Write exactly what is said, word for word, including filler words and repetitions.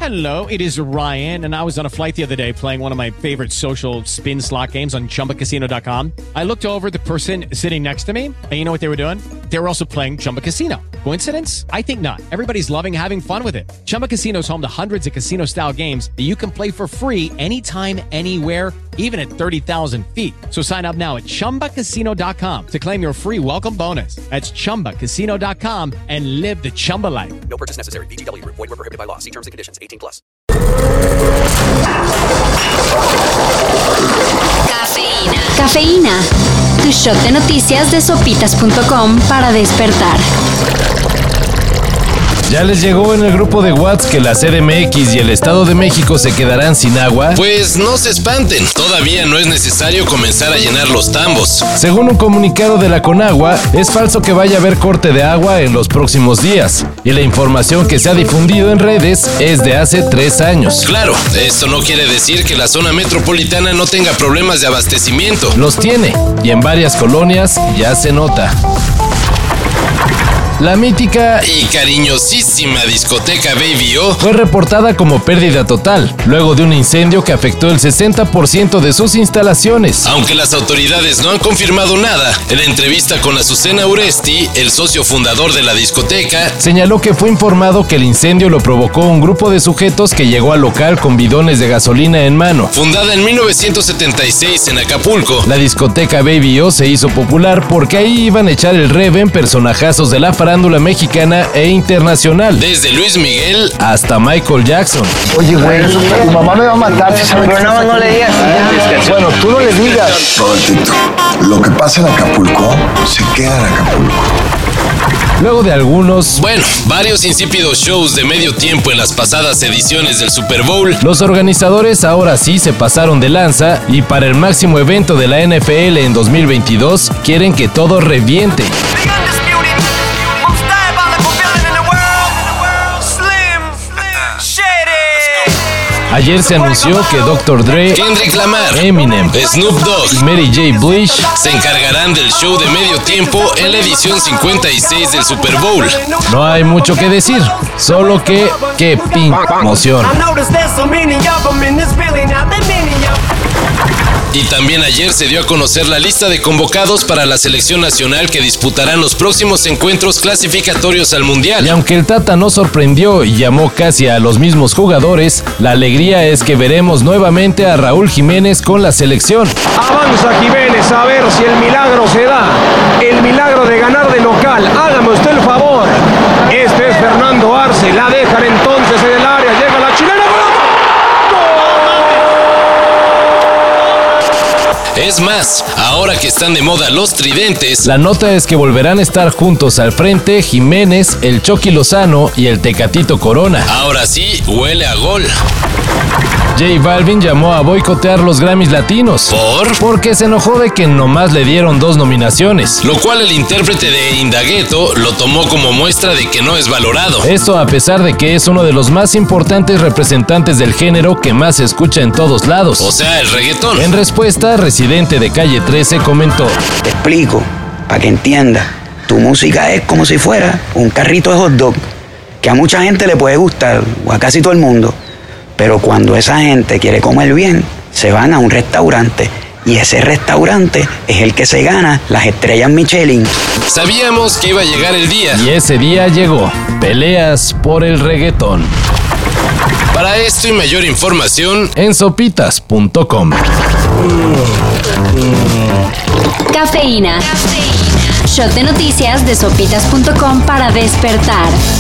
Hello, it is Ryan, and I was on a flight the other day playing one of my favorite social spin slot games on Chumba Casino dot com. I looked over at the person sitting next to me, and you know what they were doing? They were also playing Chumba Casino. Coincidence? I think not. Everybody's loving having fun with it. Chumba Casino is home to hundreds of casino-style games that you can play for free anytime, anywhere, even at thirty thousand feet. So sign up now at Chumba Casino dot com to claim your free welcome bonus. That's Chumba Casino dot com and live the Chumba life. No purchase necessary. V G W. Void where prohibited by law. See terms and conditions. eighteen plus. Cafeína. Cafeína. Tu shot de noticias de sopitas punto com para despertar. ¿Ya les llegó en el grupo de WhatsApp que la C D M X y el Estado de México se quedarán sin agua? Pues no se espanten, todavía no es necesario comenzar a llenar los tambos. Según un comunicado de la Conagua, es falso que vaya a haber corte de agua en los próximos días, y la información que se ha difundido en redes es de hace tres años. Claro, esto no quiere decir que la zona metropolitana no tenga problemas de abastecimiento. Los tiene, y en varias colonias ya se nota. La mítica y cariñosísima discoteca Baby O fue reportada como pérdida total, luego de un incendio que afectó el sesenta por ciento de sus instalaciones. Aunque las autoridades no han confirmado nada, en la entrevista con Azucena Uresti, el socio fundador de la discoteca, señaló que fue informado que el incendio lo provocó un grupo de sujetos que llegó al local con bidones de gasolina en mano. Fundada en mil novecientos setenta y seis en Acapulco, la discoteca Baby O se hizo popular porque ahí iban a echar el reven personajazos de la farándula mexicana e internacional, desde Luis Miguel hasta Michael Jackson. Oye, güey, tu mamá me va a matar. Pero no, no le digas. Bueno, tú no le digas. Robertito, lo que pasa en Acapulco se queda en Acapulco. Luego de algunos, bueno, varios insípidos shows de medio tiempo en las pasadas ediciones del Super Bowl, los organizadores ahora sí se pasaron de lanza y para el máximo evento de la N F L en dos mil veintidós quieren que todo reviente. Ayer se anunció que doctor Dre, Kendrick Lamar, Eminem, Snoop Dogg y Mary J. Blige se encargarán del show de medio tiempo en la edición cincuenta y seis del Super Bowl. No hay mucho que decir, solo que qué pin emoción. Y también ayer se dio a conocer la lista de convocados para la selección nacional que disputarán los próximos encuentros clasificatorios al Mundial. Y aunque el Tata no sorprendió y llamó casi a los mismos jugadores, la alegría es que veremos nuevamente a Raúl Jiménez con la selección. Avanza Jiménez a ver si el milagro se da, el milagro de ganar de local. Hágame usted el favor. Este es Fernando Arce, la dejan entonces en el área, llega la chilena. Es más, ahora que están de moda los tridentes, la nota es que volverán a estar juntos al frente Jiménez, el Chucky Lozano y el Tecatito Corona. Ahora sí, huele a gol. J Balvin llamó a boicotear los Grammys latinos. ¿Por? Porque se enojó de que nomás le dieron dos nominaciones. Lo cual el intérprete de Indagueto lo tomó como muestra de que no es valorado. Esto a pesar de que es uno de los más importantes representantes del género que más se escucha en todos lados. O sea, el reggaetón. En respuesta, Residente de Calle trece comentó: te explico, para que entiendas. Tu música es como si fuera un carrito de hot dog, que a mucha gente le puede gustar, o a casi todo el mundo. Pero cuando esa gente quiere comer bien, se van a un restaurante. Y ese restaurante es el que se gana las estrellas Michelin. Sabíamos que iba a llegar el día. Y ese día llegó. Peleas por el reggaetón. Para esto y mayor información, en sopitas punto com. Cafeína. Shot de noticias de sopitas punto com para despertar.